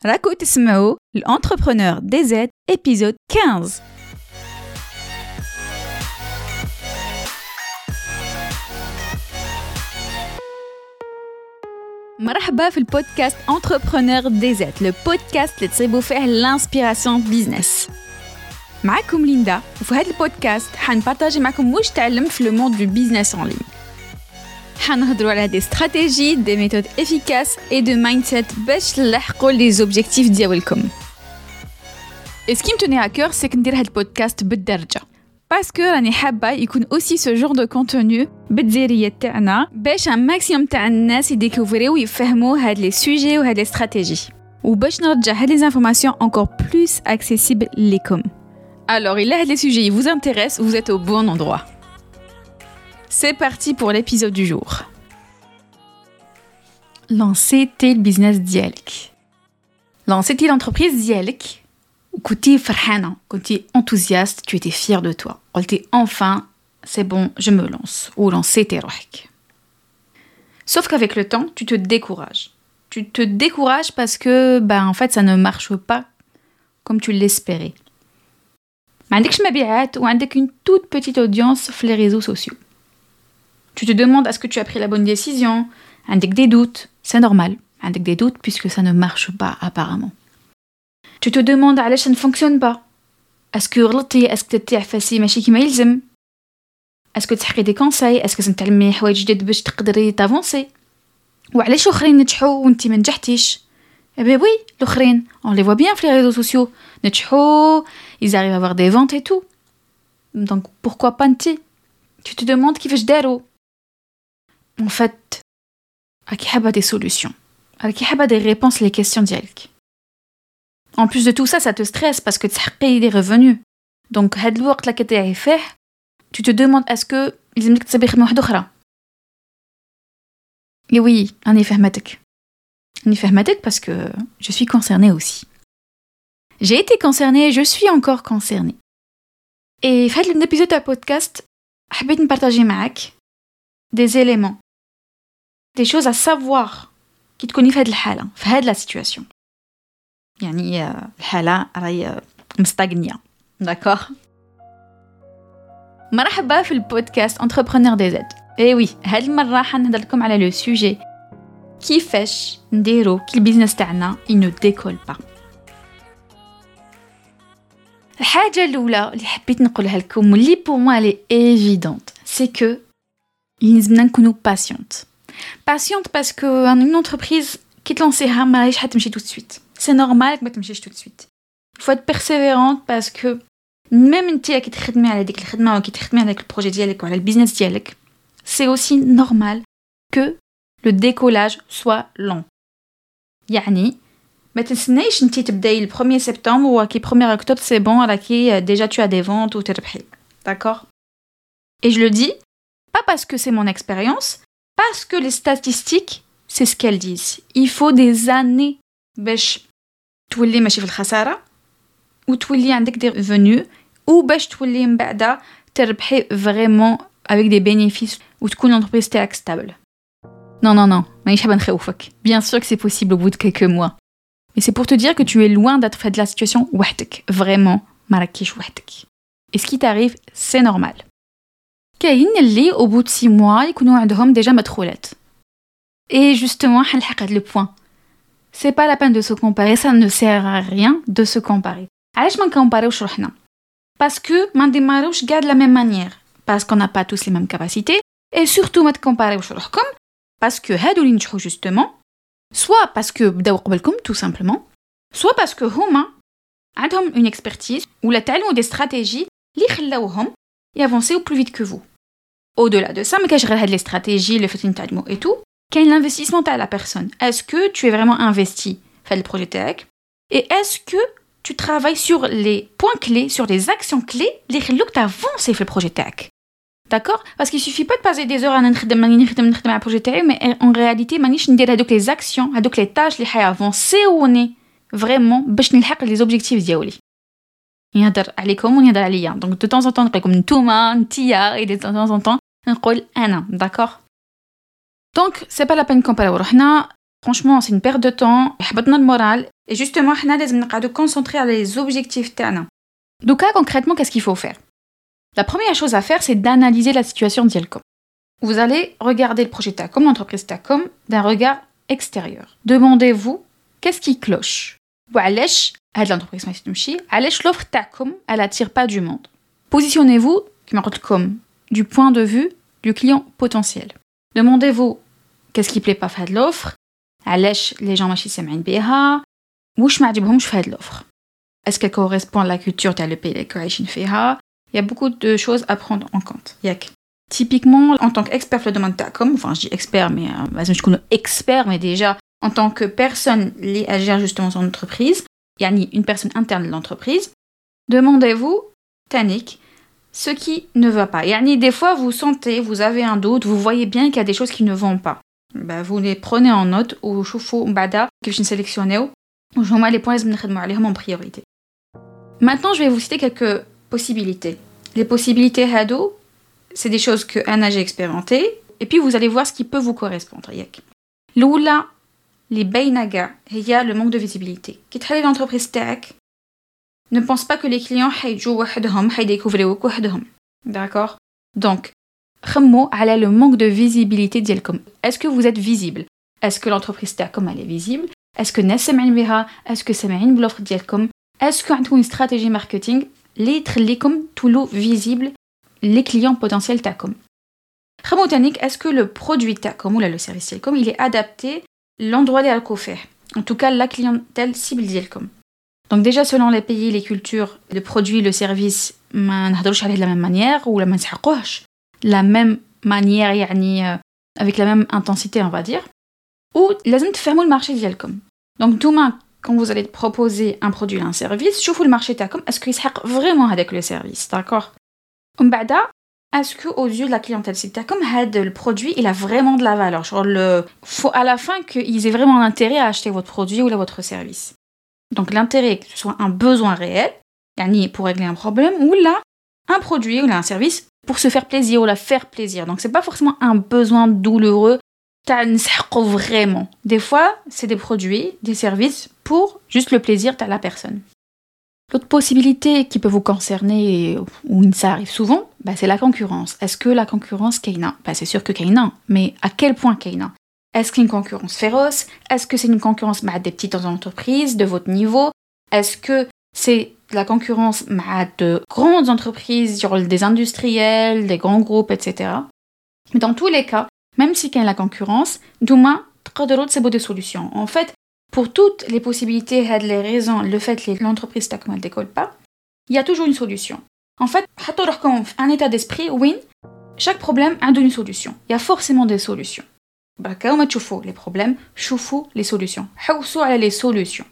راكو تسمعوا l'entrepreneur DZ épisode 15. مرحبا في البودكاست Entrepreneur DZ, le podcast اللي تصيبوا فيه l'inspiration business. معكم ليندا وفي هذا البودكاست حنبارطاجي معكم واش تعلمت في le monde du business en ligne. حنهضروا على des stratégies, des méthodes efficaces et de mindset باش تلحقوا les objectifs ديالكم. Et ce qui me tenait à cœur, c'est que ندير هذا البودكاست بالدرجة. Parce que راني حابة يكون aussi ce genre de contenu بالديرية تاعنا باش un maximum تاع الناس يديكوفريو ويفهموا هاد les sujets و هاد les stratégies. وباش نرجع هاد les informations encore plus accessibles ليكم. Alors, il a les sujets vous intéressent, vous êtes au bon endroit. C'est parti pour l'épisode du jour. Lancer tes business ديالك. Lancer tes l'entreprise ديالك. كنتي فرحانة, كنتي enthousiaste, tu étais fière de toi. قلتي enfin, c'est bon, je me lance. Ou lancer tes روحك. Sauf qu'avec le temps, tu te décourages. Tu te décourages parce que, en fait, ça ne marche pas comme tu l'espérais. ما عندكش مبيعات وعندك une toute petite audience في les réseaux sociaux. Tu te demandes est-ce que tu as pris la bonne décision, عندك des doutes, c'est normal, عندك des doutes puisque ça ne marche pas apparemment. Tu te demandes علاش ça ne fonctionne pas. Est-ce que غلطتي, est-ce que تتعفسي ماشي كيما يلزم. Est-ce que تحقي des conseils, est-ce que تتعلمي حوايج جدد باش تقدري تافونسي. وعلاش الاخرين نجحوا وانتي ما نجحتيش. Eh bien oui, l'auخرين, on les voit bien sur les réseaux sociaux. نجحوا, ils arrivent à avoir des ventes et tout. Donc pourquoi pas نتي. Tu te demandes كيفاش داروا. En fait, راكي حابة des solutions. راكي حابة des réponses les questions ديالك. En plus de tout ça, ça te stresse parce que تحقي des revenus. Donc هاد الوقت اللي كتعي فيه, tu te demandes est-ce que لازمك تصبي خدمة واحدة أخرى. Et oui, راني فهمتك. راني فهمتك parce que je suis concernée aussi. J'ai été concernée, je suis encore concernée. Et في هذا l'épisode de podcast, حبيت نبارطاجي معاك des éléments, des choses à savoir كي تكوني في هذه الحالة, في هذه la situation. يعني الحالة راهي مستغنية. D'accord. مرحبا في البودكاست Entrepreneur DZ. Et oui, هذه المرة حنهضر لكم على le sujet كيفاش نديرو كي البيزنس تاعنا il ne décolle pas. الحاجة الأولى اللي حبيت نقولها لكم واللي pour moi elle est évidente, c'est que لازمنا نكونوا patiente. Patiente parce que une entreprise qui تلانسيها ما راهيش حتمشي tout de suite. C'est normal que ما تمشيش tout de suite. Il faut être persévérante parce que même انتي كي تخدمي على ديك الخدمة وكي تخدمي على ديك البروجي ديالك وعلى البيزنس ديالك, c'est aussi normal que le décollage soit long. يعني ما تنسنيش انتي تبداي le 1er septembre وكي 1er octobre c'est bon راكي déjà tu as des ventes ou تربحي. D'accord. Et je le dis pas parce que c'est mon expérience, parce que les statistiques c'est ce qu'elles disent. Il faut des années باش تولي ماشي في الخسارة وتولي عندك des revenus وباش تولي من بعد تربحي vraiment avec des bénéfices وتكون l'entreprise تاعك stable. Non, مانيش حابة نخوفك. Bien sûr que c'est possible au bout de quelques mois. Mais c'est pour te dire que tu es loin d'être fait de la situation وحدك. Vraiment, ما راكيش وحدك. Et ce qui t'arrive, c'est normal. كاين اللي au bout de 6 mois يكونوا عندهم déjà مدخولات. Et justement, حنلحق هاد le point. C'est pas la peine de se comparer, ça ne sert à rien de se comparer. علاش ما نكومباريوش روحنا؟ Parce que ما نديماروش كاع de la même manière. Parce qu'on n'a pas tous les mêmes capacités. Et surtout ما تكومباريوش روحكم. Parce que هادو اللي نجحوا justement, soit parce que بداو قبلكم tout simplement, soit parce que هما عندهم une expertise ou la تعلموا des stratégies اللي خلاوهم يافونسيو plus vite que vous. Au-delà de ça, ما كاينش غير هاد les stratégies, le fait نتعلموا et tout, كاين l'investissement تاع la personne. Est-ce que tu es vraiment investi في هاد البروجي تاعك? Et est-ce que tu travailles sur les points clés, sur les actions clés اللي يخلوك تافونسي في البروجي تاعك? D'accord? Parce qu'il suffit pas de passer des heures à نخدم على البروجي تاعي, mais en réalité مانيش ندير هذوك les actions, هذوك les tâches اللي حيافونسيوني vraiment باش نلحق les objectifs ديالي. يهضر عليكم ونهضر عليا. Donc de temps en temps نقول لكم نتوما, نتيا, et de temps en temps نقول أنا. D'accord? Donc c'est pas la peine comparer روحنا. Franchement, c'est une perte de temps, يحبطنا المورال et justement حنا لازم نقعدوا concentrer على les objectifs تاعنا. Donc concrètement, qu'est-ce qu'il faut faire? La première chose à faire, c'est d'analyser la situation ديالكم. Vous allez regarder le projet TACOM, l'entreprise TACOM, d'un regard extérieur. Demandez-vous, qu'est-ce qui cloche? وعلاش هاد l'entreprise ما تمشي؟ علاش l'offre TACOM, elle attire pas du monde? Positionnez-vous, كما قلت لكم, du point de vue du client potentiel. Demandez-vous, qu'est-ce qui plaît pas في هاد l'offre? علاش les gens ماشي سامعين بها؟ واش ما عجبهمش في هاد l'offre? Est-ce qu'elle correspond à la culture تاع le pays اللي عايشين فيها? Il y a beaucoup de choses à prendre en compte. Typiquement, en tant qu'expert dans le domaine TACOM, enfin je dis expert, mais je connais expert, mais déjà en tant que personne liée à gérer justement son entreprise, yani une personne interne de l'entreprise, demandez-vous, Tanik, ce qui ne va pas. Yani des fois vous sentez, vous avez un doute, vous voyez bien qu'il y a des choses qui ne vont pas. Vous les prenez en note ou choufou bada que je sélectionne ou je mets les points en priorité. Maintenant, je vais vous citer quelques possibilités. Les possibilités hado, c'est des choses que Anna j'ai expérimentées, et puis vous allez voir ce qui peut vous correspondre. L'oula, les baynaga, il y a le manque de visibilité. Qui travaille l'entreprise tech, ne pense pas que les clients haydjou wahdhom, haydécouvrir wahdhom. D'accord? Donc, khmou ala le manque de visibilité dielkom. Est-ce que vous êtes visible? Est-ce que l'entreprise tech comme elle est visible? Est-ce que nas samain biha? Est-ce que samain l'offre dielkom? Est-ce que vous avez une stratégie marketing les tkhlikom toulo visible les clients potentiels TACOM. Khamoutanik, est-ce que le produit TACOM ou le service TACOM, il est adapté l'endroit des alcofers? En tout cas, la clientèle cible TACOM. Donc déjà, selon les pays, les cultures, le produit, le service, ما نهضروش عليه de la même manière ou ما نسحقوهش la même manière, يعني avec la même intensité, on va dire. Ou لازم تفهموا le marché ديالكم. Donc demain, quand vous allez proposer un produit ou un service, شوفوا le marché TACOM, est-ce qu'il يسحق vraiment avec le service, d'accord? Est-ce qu'aux yeux de la clientèle TACOM, le produit il a vraiment de la valeur? Il faut à la fin qu'ils aient vraiment l'intérêt à acheter votre produit ou votre service. Donc l'intérêt, que ce soit un besoin réel, pour régler un problème, ou là, un produit ou là, un service pour se faire plaisir ou la faire plaisir. Donc c'est pas forcément un besoin douloureux, vraiment. Des fois, c'est des produits, des services pour juste le plaisir de la personne. L'autre possibilité qui peut vous concerner, ou ça arrive souvent, c'est la concurrence. Est-ce que la concurrence, Kaina? C'est sûr que Kaina, mais à quel point Kaina? Est-ce qu'il y a une concurrence féroce? Est-ce que c'est une concurrence des petites entreprises, de votre niveau? Est-ce que c'est la concurrence de grandes entreprises, des industriels, des grands groupes, etc. Mais dans tous les cas, même si il y a la concurrence, demain, c'est des solutions. En fait, pour toutes les possibilités, les raisons, le fait que l'entreprise TACOM ne décolle pas, il y a toujours une solution. En fait, un état d'esprit, oui, chaque problème a une solution. Il y a forcément des solutions. Quand on choufou les problèmes, choufou les solutions. Haussou à les solutions.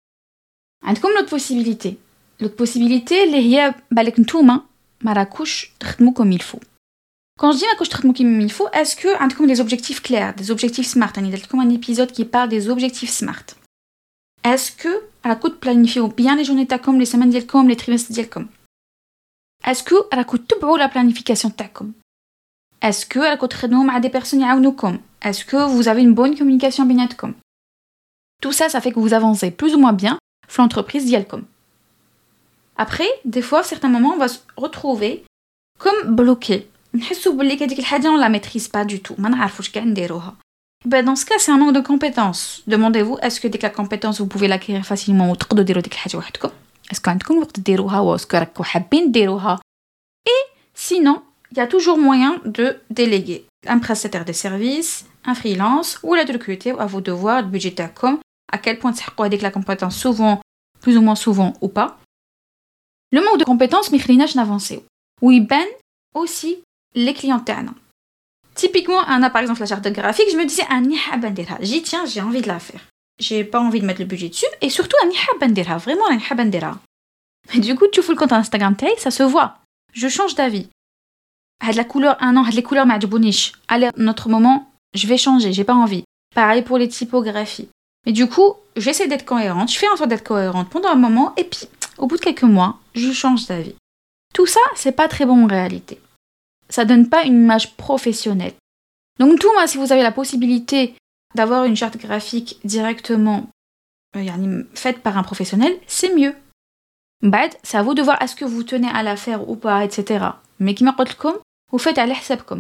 عندكم l'autre possibilité. L'autre possibilité, اللي هي بالك نتوما ما راكوش تخدموا comme il faut. Quand je dis que je traite comme il faut, est-ce que vous avez des objectifs clairs, des objectifs smart? Il y a comme un épisode qui parle des objectifs smart. Est-ce que à la coup de planifier bien les journées TACOM, les semaines d'IELCOM, les trimestres d'IELCOM? Est-ce que à la coup de tout la planification TACOM? Est-ce que à la coup de traiter avec des personnes يعاونوكم? Est-ce que vous avez une bonne communication بيناتكم? Tout ça, ça fait que vous avancez plus ou moins bien sur l'entreprise d'IELCOM. Après, des fois, à certains moments, on va se retrouver comme bloqué. نحسوا باللي كديك الحاجه on la maîtrise pas du tout ما نعرفوش كاع نديروها. Dans ce cas c'est un manque de compétences. Demandez-vous est-ce que dès que la compétence vous pouvez l'acquérir facilement وتقدروا ديروا ديك الحاجه وحدكم. Est-ce que عندكم وقت ديروها ou est-ce que راكم حابين ديروها? Et sinon il y a toujours moyen de déléguer un prestataire de services, un freelance ou la de recruter à vos devoirs de budget TACOM à quel point تحققوا هذيك la compétence souvent plus ou moins souvent ou pas. Le manque de compétences ما يخليناش نافونسيو ويبان aussi les clients تاعنا. Typiquement, par exemple la charte graphique, je me disais ani حابة نديرها. Tiens, j'ai envie de la faire. J'ai pas envie de mettre le budget dessus et surtout ani حابة نديرها, vraiment ani حابة نديرها. Mais du coup, tu fous le compte Instagram تاعي, ça se voit. Je change d'avis. La couleur les couleurs m'عجبونيش. Allez, notre moment, je vais changer, j'ai pas envie. Pareil pour les typographies. Mais du coup, j'essaie d'être cohérente, je fais en sorte d'être cohérente pendant un moment et puis au bout de quelques mois, je change d'avis. Tout ça, c'est pas très bon en réalité. Ça donne pas une image professionnelle. Donc tout, si vous avez la possibilité d'avoir une charte graphique directement faite par un professionnel, c'est mieux. بعد, c'est à vous de voir est-ce que vous tenez à la faire ou pas, etc. Mais كما قلت لكم, vous faites على حسابكم.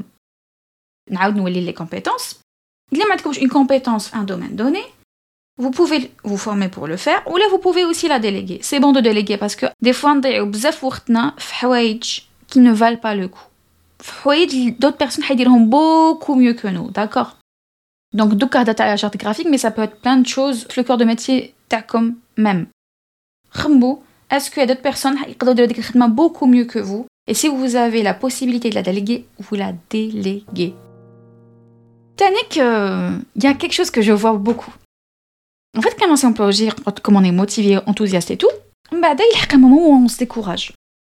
نعاود نولي les compétences. Il y a une compétence, un domaine donné. Vous pouvez vous former pour le faire, ou là vous pouvez aussi la déléguer. C'est bon de déléguer parce que des fois, on a بزاف وقتنا في حوايج qui ne valent pas le coup. D'autres personnes vont beaucoup mieux que nous, d'accord? Donc, دوكا هضرت على la charte graphique, mais ça peut être plein de choses. Le cœur de métier تاعكم même. خمو, est-ce qu'il y a d'autres personnes qui peuvent faire des choses beaucoup mieux que vous? Et si vous avez la possibilité de la déléguer, vous la déléguez. Tannick, il y a quelque chose que je vois beaucoup. En fait, quand on sait agir, comme on est motivé, enthousiaste et tout, il y a un moment où on se décourage.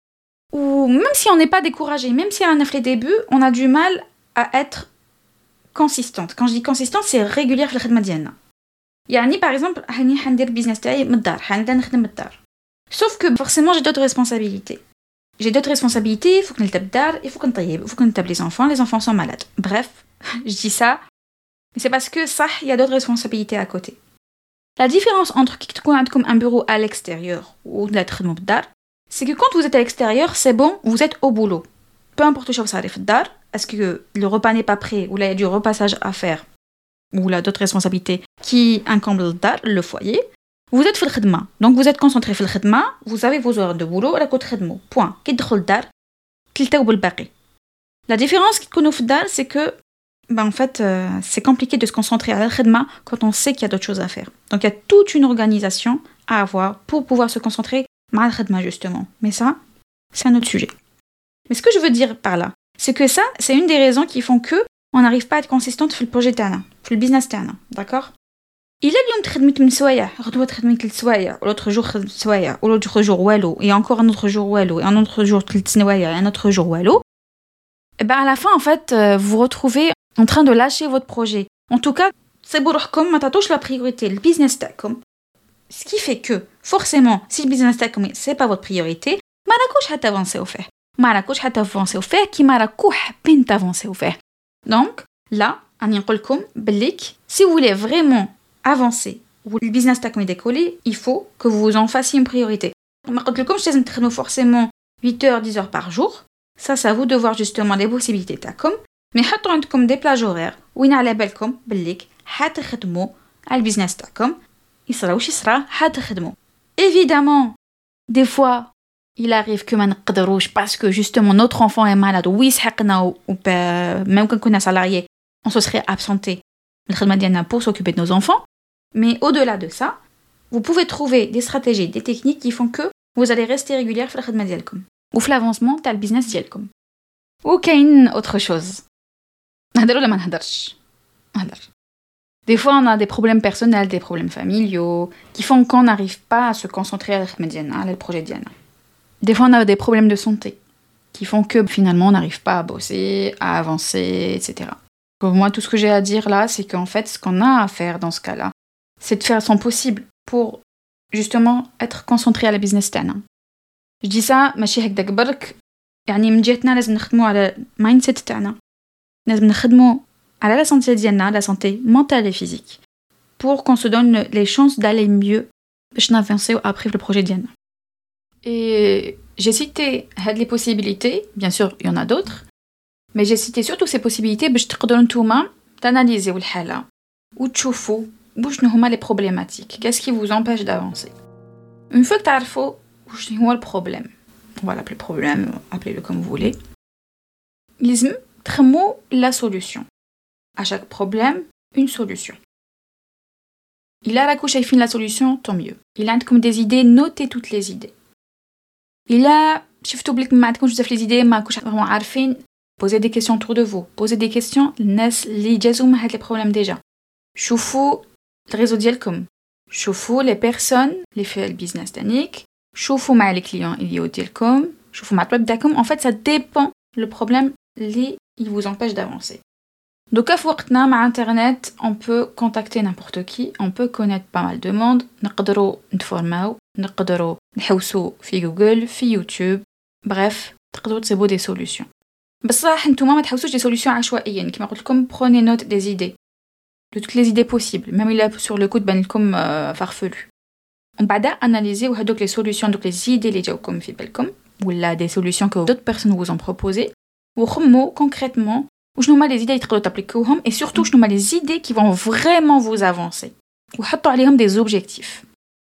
Ou même si on n'est pas découragé, même si on a fait les débuts, on a du mal à être consistante. Quand je dis consistante, c'est régulière في الخدمة ديالنا. يعني par exemple, هاني حندير البيزنس تاعي من الدار، حنبدا نخدم من الدار. Sauf que forcément, j'ai d'autres responsabilités. J'ai d'autres responsabilités, il faut que نلتب الدار, il faut que نطيب, il faut que نتاب les enfants sont malades. Bref, je dis ça, mais c'est parce que ça, il y a d'autres responsabilités à côté. La différence entre qui تكون عندكم un bureau à l'extérieur ou de la تخدموا بالدار, c'est que quand vous êtes à l'extérieur, c'est bon, vous êtes au boulot. Peu importe où ça arrive الدار, est-ce que le repas n'est pas prêt, ou là il y a du repassage à faire, ou là d'autres responsabilités qui incombent الدار, le foyer, vous êtes في الخدمة. Donc vous êtes concentré في الخدمة, vous avez vos heures de boulot, راكو تخدموا. Point. كي تدخل الدار, تلتاو بالباقي. La différence qui تكونوا في الدار, c'est que en fait, c'est compliqué de se concentrer à la khidma quand on sait qu'il y a d'autres choses à faire. Donc, il y a toute une organisation à avoir pour pouvoir se concentrer à la khidma, justement. Mais ça, c'est un autre sujet. Mais ce que je veux dire par là, c'est que ça, c'est une des raisons qui font que on n'arrive pas à être consistante dans le projet تاعنا, dans le business تاعنا, d'accord? Il a اليوم تخدمت من سوايع, غدوة تخدمت 3 سوايع, ou l'autre jour خدمت سوايع, ou l'autre jour والو, et encore un autre jour والو, et un autre jour 3 سوايع, et un autre jour والو. Et ben à la fin, en fait, vous vous retrouvez en train de lâcher votre projet. En tout cas, c'est بروحكم ما تعطوش la priorité, le business تاعكم. Ce qui fait que, forcément, si le business تاعكم c'est pas votre priorité, ما راكوش حتافونسي au faire. ما راكوش حتافونسي au faire كيما راكو حابين تافونسي au faire. Donc, là, راني نقول لكم بليك, si vous voulez vraiment avancer, ou le business تاعكم décoller, il faut que vous en fassiez une priorité. ما قلت لكمش لازم تخدموا forcément 8 heures, 10 heures par jour. Ça, c'est à vous de voir justement les possibilités تاعكم. Mais حطوا عندكم des plages horaires وين على بالكم بليك حتخدموا على البيزنس تاعكم يصرا واش يصرا حتخدموا. Évidemment, des fois, il arrive que ما نقدروش parce que justement notre enfant est malade ويسحقنا ou même quand on est salarié, on se serait absenté من الخدمة ديالنا pour s'occuper de nos enfants. Mais au-delà de ça, vous pouvez trouver des stratégies, des techniques qui font que vous allez rester régulière في الخدمة ديالكم وفي l'avancement تاع البيزنس ديالكم. وكاين autre chose. نهضر ولا ما نهضرش؟ نهضر. Des fois, on a des problèmes personnels, des problèmes familiaux, qui font qu'on n'arrive pas à se concentrer à le projet Diana. Des fois, on a des problèmes de santé, qui font que finalement, on n'arrive pas à bosser, à avancer, etc. Donc, moi, tout ce que j'ai à dire là, c'est qu'en fait, ce qu'on a à faire dans ce cas-là, c'est de faire son possible pour justement être concentré à la business تاعنا. Je dis ça, ماشي هكذاك برك، يعني من جهتنا لازم نخدموا على المايند سيت تاعنا. لازم نخدموا على la santé ديالنا, la santé mentale et physique, pour qu'on se donne les chances d'aller mieux باش نافونسيو après le projet ديالنا. Et j'ai cité les possibilités, bien sûr, il y en a d'autres, mais j'ai cité surtout ces possibilités باش تقدروا نتوما تاناليزيو الحالة وتشوفوا واش هما les problématiques, qu'est-ce qui vous empêche d'avancer. Une fois que تعرفوا واش هو le problème, on va l'appeler problème, appelez-le comme vous voulez, لازم تخمو la solution. À chaque problème, une solution. Il a راكو شايفين la solution, tant mieux. Il a عندكم des idées, notez toutes les idées. Il a شفتوا بليك ما عندكمش بزاف les idées, ما راكوش vraiment عارفين, posez des questions autour de vous. Posez des questions للناس اللي جازوا مع هاد les problèmes déjà. شوفوا الريزو ديالكم. شوفوا les personnes اللي في البيزنس تاعك. شوفوا مع les clients اللي ديالكم. شوفوا مع الطلب ديالكم. En fait, ça dépend le problème اللي il vous empêche d'avancer. Donc, à وقتنا مع Internet, on peut contacter n'importe qui, on peut connaître pas mal de monde, نقدروا نتفورماو, نقدروا نحوسوا في جوجل, في يوتيوب, bref, تقدروا تسيبوا des solutions. بصح نتوما ما تحوسوش des solutions عشوائيا, كما قلت لكم, prenez note des idées. de toutes les idées possibles, même il a sur le coup de ben comme farfelu. On va analyser donc les solutions, donc les idées les جاوكم في بالكم ou là des solutions que d'autres personnes vous ont proposées وخمو concrètement وشنو هما les idées اللي تقدروا تابليكوهم et surtout شنو هما les idées qui vont vraiment vous avancer وحطوا عليهم des objectifs.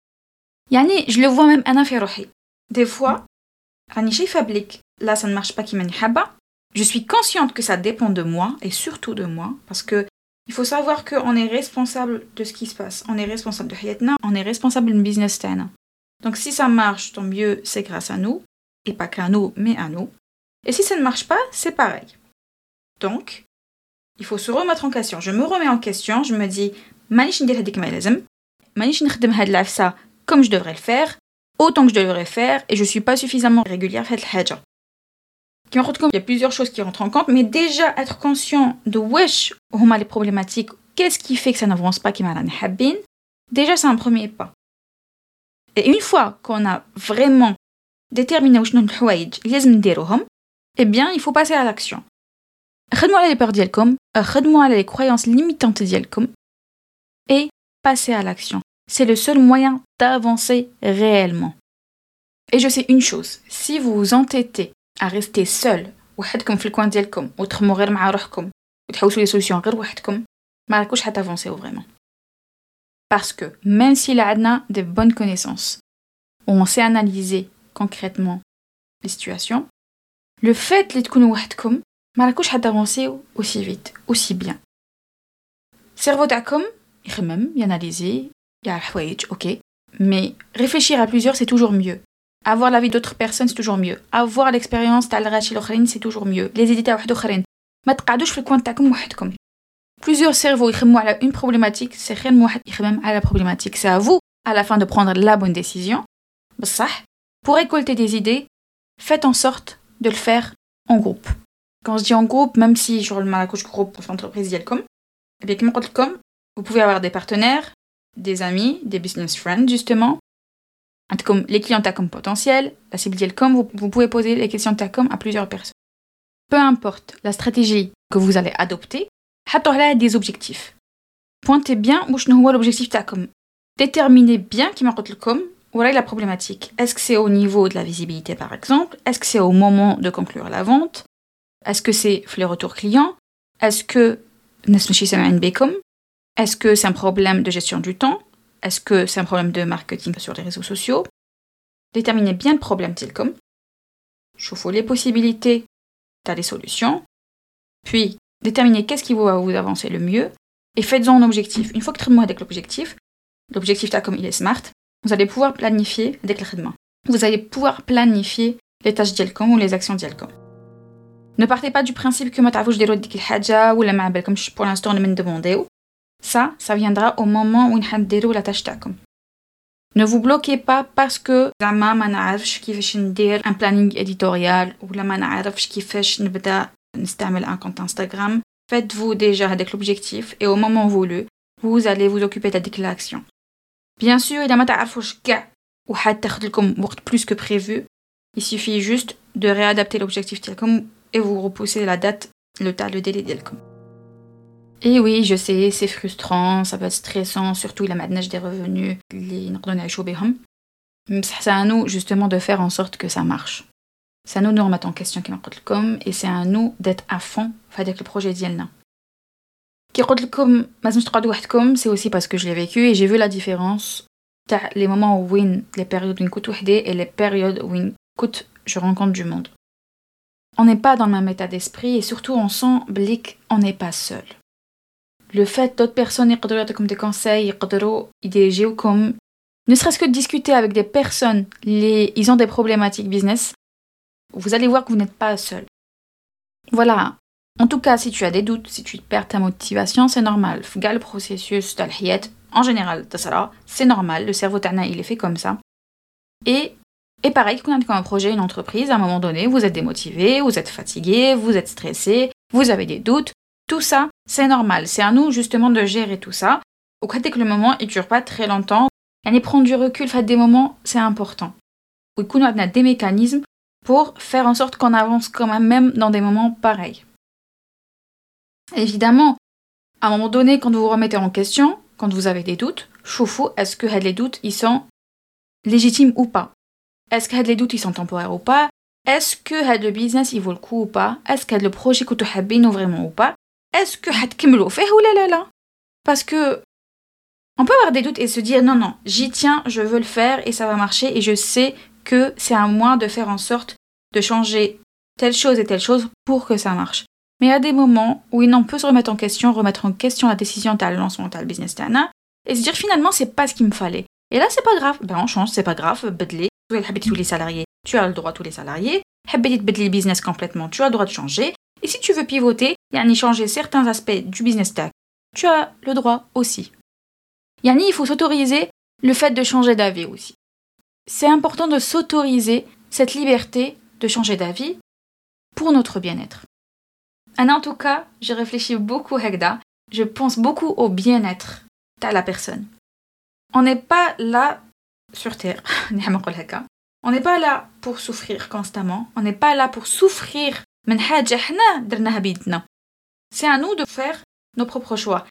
يعني je le vois même انا في روحي des fois راني شايفه بليك là ça ne marche pas كيما نحبه. Je suis consciente que ça dépend de moi et surtout de moi parce que il faut savoir qu'on est responsable de ce qui se passe. On est responsable de حياتنا, on est responsable du business تاعنا. Donc si ça marche, tant mieux, c'est grâce à nous. Et pas qu'à nous, mais à nous. Et si ça ne marche pas, c'est pareil. Donc, il faut se remettre en question. Je me remets en question, je me dis مانيش ندير هذيك ما لازم. مانيش نخدم هاد العفسة comme je devrais le faire, autant que je devrais faire, et je suis pas suffisamment régulière في هاد الحاجة. Il y a plusieurs choses qui rentrent en compte, mais déjà être conscient de wesh هما les problématiques, qu'est-ce qui fait que ça n'avance pas كيما رانا حابين, déjà c'est un premier pas. Et une fois qu'on a vraiment déterminé وشنو الحوايج اللي لازم نديروهم, eh bien il faut passer à l'action. خدموا على les peurs ديالكم, خدموا على les croyances limitantes ديالكم, et passer à l'action. C'est le seul moyen d'avancer réellement. Et je sais une chose, si vous vous entêtez à rester seul وحدكم في الكوان ديالكم وتخموا غير مع روحكم وتحوسوا لي سوليسيون غير وحدكم ما راكوش حتافونسيو vraiment. Parce que même si là on a de bonnes connaissances, on sait analyser concrètement les situations, le fait de تكونوا وحدكم ما راكوش حتافونسيو aussi vite, aussi bien. Cerveau تاعكم يخمم, ياناليزي, يعرف حوايج, ok, mais réfléchir à plusieurs c'est toujours mieux. Avoir l'avis d'autres personnes, c'est toujours mieux. Avoir l'expérience تاع الغاشي الاخرين, c'est toujours mieux. Les idées تاع واحد اخرين. ما تقعدوش في الكوان تاعكم وحدكم. Plusieurs cerveaux يخمموا على une problématique, c'est خير من واحد يخمم على la problématique. C'est à vous, à la fin, de prendre la bonne décision. بصح, pour récolter des idées, faites en sorte de le faire en groupe. Quand je dis en groupe, même si je remets la couche groupe pour l'entreprise ديالكم, eh bien, كما قلت لكم, vous pouvez avoir des partenaires, des amis, des business friends, justement. Comme les clients TACOM potentiels, la cible d'Yelcom, vous pouvez poser les questions TACOM à plusieurs personnes. Peu importe la stratégie que vous allez adopter, حطوا des objectifs. Pointez bien où est l'objectif TACOM. Déterminez bien qui m'a dit voilà la problématique. Est-ce que c'est au niveau de la visibilité par exemple? Est-ce que c'est au moment de conclure la vente? Est-ce que c'est les retours clients? Est-ce que est-ce que c'est un problème de gestion du temps? Est-ce que c'est un problème de marketing sur les réseaux sociaux? Déterminez bien le problème TILCOM. Chauffez les possibilités, t'as les solutions. Puis, déterminez qu'est-ce qui va vous avancer le mieux. Et faites-en un objectif. Une fois que vous avec l'objectif TACOM il est smart, vous allez pouvoir planifier avec le vous allez pouvoir planifier les tâches d'Yelcom ou les actions d'Yelcom. Ne partez pas du principe que ma تعرفوش ديروا ديك الحاجة ولا ما بالكمش pour l'instant ne me demandez. Ça viendra au moment où vous allez la tâche تاعكم. Ne vous bloquez pas parce que زعما ما نعرفش كيفاش ندير un planning éditorial ولا ما نعرفش كيفاش نبدا نستعمل un compte Instagram. Faites-vous déjà avec l'objectif et au moment voulu, vous allez vous occuper de l'action. Bien sûr, إذا ما تعرفوش كاع وحد تاخذ لكم وقت plus que prévu, il suffit juste de réadapter l'objectif ديالكم et vous repoussez la date, le délai ديالكم. Et oui, je sais, c'est frustrant, ça peut être stressant, surtout il a maintenant des revenus, c'est à nous justement de faire en sorte que ça marche. C'est à nous de nous remettre en question et c'est à nous d'être à fond avec le projet ديالنا. C'est aussi parce que je l'ai vécu et j'ai vu la différence les moments où les périodes où et les périodes où je rencontre du monde. On n'est pas dans le même état d'esprit et surtout on sent qu'on n'est pas seul. Le fait d'autres personnes يقدروا يعطيكم des conseils, يقدروا يديريوكم, ne serait-ce que de discuter avec des personnes, ils ont des problématiques business, vous allez voir que vous n'êtes pas seul. Voilà. En tout cas, si tu as des doutes, si tu perds ta motivation, c'est normal. Le processus d'al-hiyat, en général, c'est normal. Le cerveau tana, il est fait comme ça. Et pareil, quand on a un projet, une entreprise, à un moment donné, vous êtes démotivé, vous êtes fatigué, vous êtes stressé, vous avez des doutes. Tout ça, c'est normal. C'est à nous, justement, de gérer tout ça. Au cas que le moment, il ne dure pas très longtemps. Et prendre du recul, faire des moments, c'est important. On a des mécanismes pour faire en sorte qu'on avance quand même dans des moments pareils. Évidemment, à un moment donné, quand vous vous remettez en question, quand vous avez des doutes, choufou, est-ce que les doutes, ils sont légitimes ou pas? Est-ce que les doutes, ils sont temporaires ou pas? Est-ce que le business, il vaut le coup ou pas? Est-ce que le projet que tu حابينه vraiment ou pas? Est-ce que حتكملوا فيه ou là? Parce que on peut avoir des doutes et se dire non, j'y tiens, je veux le faire et ça va marcher et je sais que c'est à moi de faire en sorte de changer telle chose et telle chose pour que ça marche. Mais il y a des moments où on peut se remettre en question la décision de lancement de business tana et se dire finalement c'est pas ce qu'il me fallait. Et là c'est pas grave, on change, c'est pas grave, بدلي. tous les salariés, tu as le droit tous les salariés. حبيتي تبدلي le business complètement, tu as le droit de changer. Et si tu veux pivoter, changer certains aspects du business tag, tu as le droit aussi. Il faut s'autoriser le fait de changer d'avis aussi. C'est important de s'autoriser cette liberté de changer d'avis pour notre bien-être. En tout cas, je réfléchis beaucoup Hekda, je pense beaucoup au bien-être de la personne. On n'est pas là sur Terre, on n'est pas là pour souffrir constamment, on n'est pas là pour souffrir من حاجة حنا درناها بيدنا. C'est à nous de faire nos propres choix.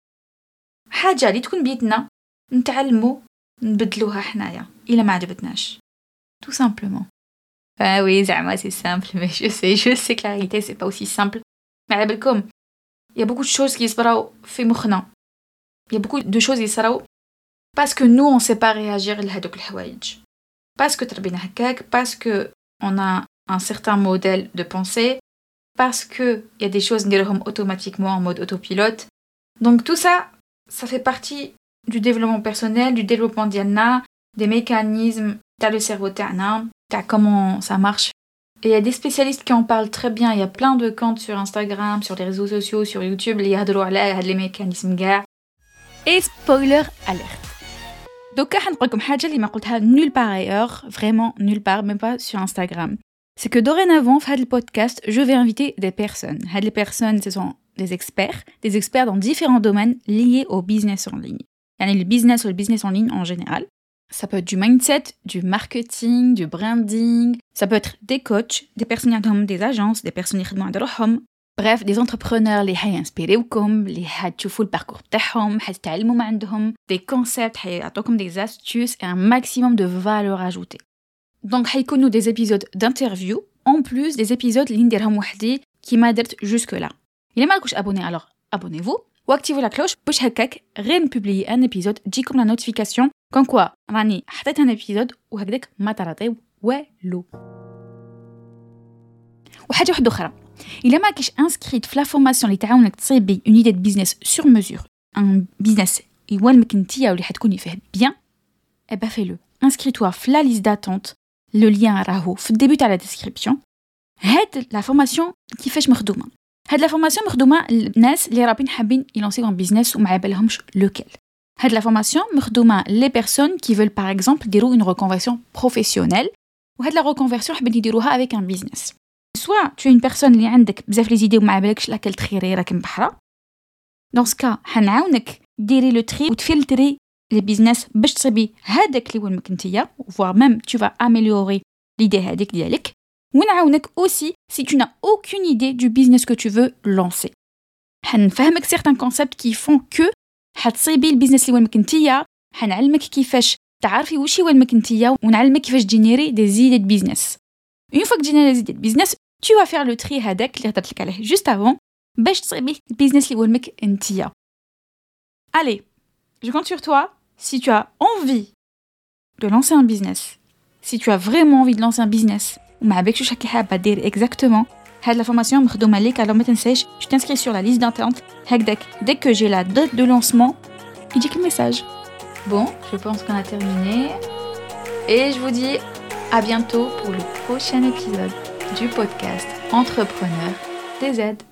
حاجة اللي تكون بيدنا نتعلموا نبدلوها حنايا إلا ما عجبتناش. Tout simplement. Ah oui, زعما c'est simple, mais je sais que la réalité c'est pas aussi simple. Mais على بالكم, il y a beaucoup de choses qui يصراو في مخنا. Il y a beaucoup de choses qui يصراو parce que nous on sait pas réagir لهادوك الحوايج. Parce que تربينا هكاك, parce que on a un certain modèle de pensée, parce que il y a des choses نديرهم automatiquement en mode autopilote. Donc tout ça, ça fait partie du développement personnel, du développement d'Yanna, des mécanismes dans le cerveau تاعنا, comment ça marche. Et il y a des spécialistes qui en parlent très bien, il y a plein de comptes sur Instagram, sur les réseaux sociaux, sur YouTube, اللي يهضروا على هاد les mécanismes كاع. Et spoiler alert. Donc حنقول لكم حاجه اللي ما قلتها nulle part ailleurs, vraiment nulle part, même pas sur Instagram. C'est que dorénavant, dans le podcast, je vais inviter des personnes. Les personnes, ce sont des experts dans différents domaines liés au business en ligne. Le business ou le business en ligne en général. Ça peut être du mindset, du marketing, du branding. Ça peut être des coachs, des personnes qui ont des agences, des personnes qui ont des rohom. Bref, des entrepreneurs qui ont inspiré qui ont vu le parcours تاعهم, qui ont appris des concepts, qui ont des astuces et un maximum de valeur ajoutée. Donc, حيكونوا des épisodes d'interview en plus des épisodes اللي نديرهم وحدي كيما درت jusque là. إلا ما راكوش abonné, alors abonnez-vous ou activez la cloche باش هكاك غير نبوبلي un épisode تجيكم la notification comme quoi راني حطيت un épisode وهكذاك ما تراطيو والو. وحاجه واحده اخرى, إلا ما كاش inscrite في la formation اللي تعاونك تصيبي une idée de business sur mesure, un business يوالمك نتيا واللي حتكوني فيه bien, eh ben fais-le. Inscris-toi في la liste d'attente. Le lien راهو في الديبut à la description. هاد la formation كيفاش مخدومه. هاد la formation مخدومه للناس اللي رابين حابين يلونسيو un business وما عبالهمش lequel. هاد la formation مخدومه les personnes qui veulent par exemple يديروا une reconversion professionnelle. وهاد la reconversion حابين يديروها avec un business. Soit tu es une personne اللي عندك بزاف لي زيدي وما عبالكش لاكل تخيري راك مبحره. Dans ce cas حنعاونك ديري لو تري وتفلتري les business باش تصيبي هذاك اللي وين مكنتيا, voire même tu vas améliorer l'idée هذيك ديالك. ونعاونك aussi si tu n'as aucune idée du business que tu veux lancer. حنفهمك certains concepts qui font que حتصيبي البيزنس اللي وين مكنتيا, حنعلمك كيفاش تعرفي وشي وين مكنتيا, ونعلمك كيفاش جينيري des idées de business. Une fois que tu as les idées de business, tu vas faire le tri هذاك اللي هضرت لك عليه juste avant باش تصيبي البيزنس اللي وين مكنتيا. Allez, je compte sur toi. Si tu as envie de lancer un business, si tu as vraiment envie de lancer un business, وما عبالكش واش راكي حابه دير exactement, هاد la formation مخدومه ليك, alors ما تنساش tu t'inscris sur la liste d'attente هكذاك dès que j'ai la date de lancement يجيك le message. Bon, je pense qu'on a terminé et je vous dis à bientôt pour le prochain épisode du podcast Entrepreneur DZ.